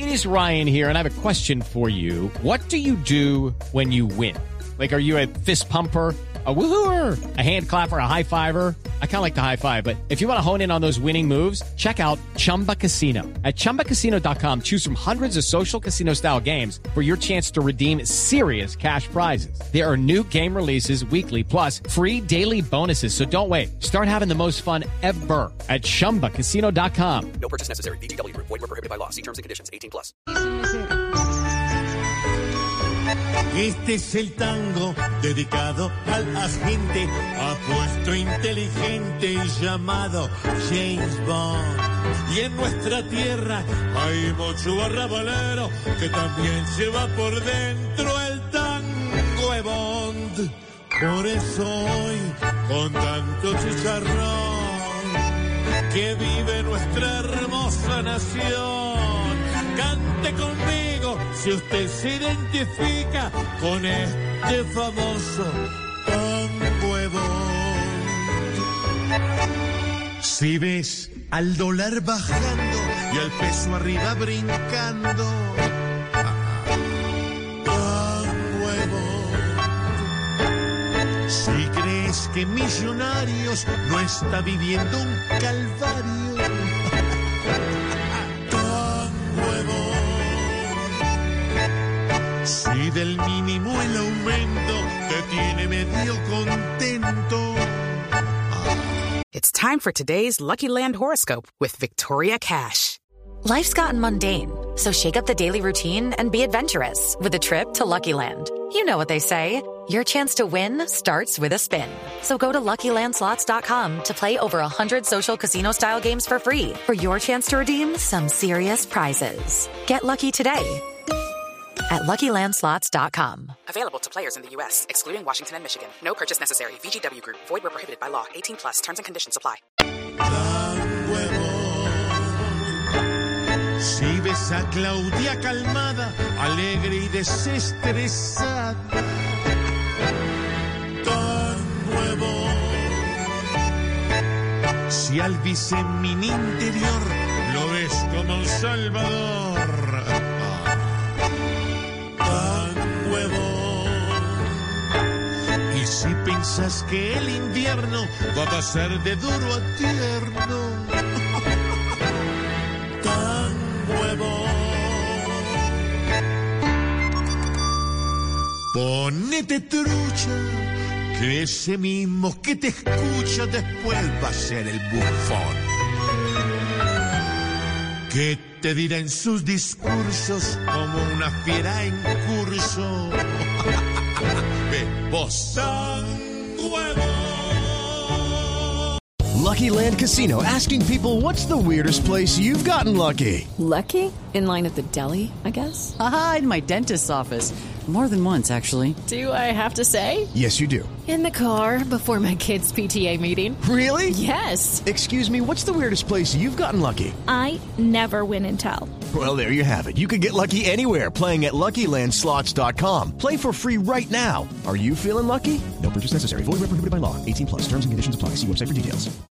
It is Ryan here, and I have a question for you. What do you do when you win? Like, are you a fist pumper, a woohooer, a hand clapper, a high fiver? I kind of like the high five, but if you want to hone in on those winning moves, check out Chumba Casino. At ChumbaCasino.com, choose from hundreds of social casino-style games for your chance to redeem serious cash prizes. There are new game releases weekly, plus free daily bonuses. So don't wait. Start having the most fun ever at ChumbaCasino.com. No purchase necessary. VGW Group. Void where prohibited by law. See terms and conditions. 18+. Este es el tango dedicado al agente apuesto inteligente llamado James Bond. Y en nuestra tierra hay mucho arrabalero que también lleva por dentro el tango de Bond. Por eso hoy, con tanto chicharrón que vive nuestra hermosa nación, cante conmigo si usted se identifica con este famoso tango de Bond. Si ves al dólar bajando y al peso arriba brincando, tango de Bond. Si crees que Millonarios no está viviendo un calvario, tango de Bond. Si del mínimo el aumento te tiene medio contento. It's time for today's Lucky Land horoscope with Victoria Cash. Life's gotten mundane, so shake up the daily routine and be adventurous with a trip to Lucky Land. You know what they say, your chance to win starts with a spin. So go to LuckyLandSlots.com to play over 100 social casino-style games for free for your chance to redeem some serious prizes. Get lucky today at LuckyLandSlots.com. Available to players in the U.S., excluding Washington and Michigan. No purchase necessary. VGW Group. Void where prohibited by law. 18+. Terms and conditions apply. Tango de Bond. Si ves a Claudia calmada, alegre y desestresada, tango de Bond. Si al vicemin interior lo ves como un salvador, tango de Bond. Y si piensas que el invierno va a pasar de duro a tierno, tango de Bond. Ponete trucha, que ese mismo que te escucha después va a ser el bufón, que te dirá en sus discursos como una fiera en curso. Ve vos, tango de Bond. Lucky Land Casino, asking people, what's the weirdest place you've gotten lucky? Lucky? In line at the deli, I guess? Aha, in my dentist's office. More than once, actually. Do I have to say? Yes, you do. In the car before my kids' PTA meeting. Really? Yes. Excuse me, what's the weirdest place you've gotten lucky? I never win and tell. Well, there you have it. You can get lucky anywhere, playing at LuckyLandSlots.com. Play for free right now. Are you feeling lucky? No purchase necessary. Void where prohibited by law. 18+. Terms and conditions apply. See website for details.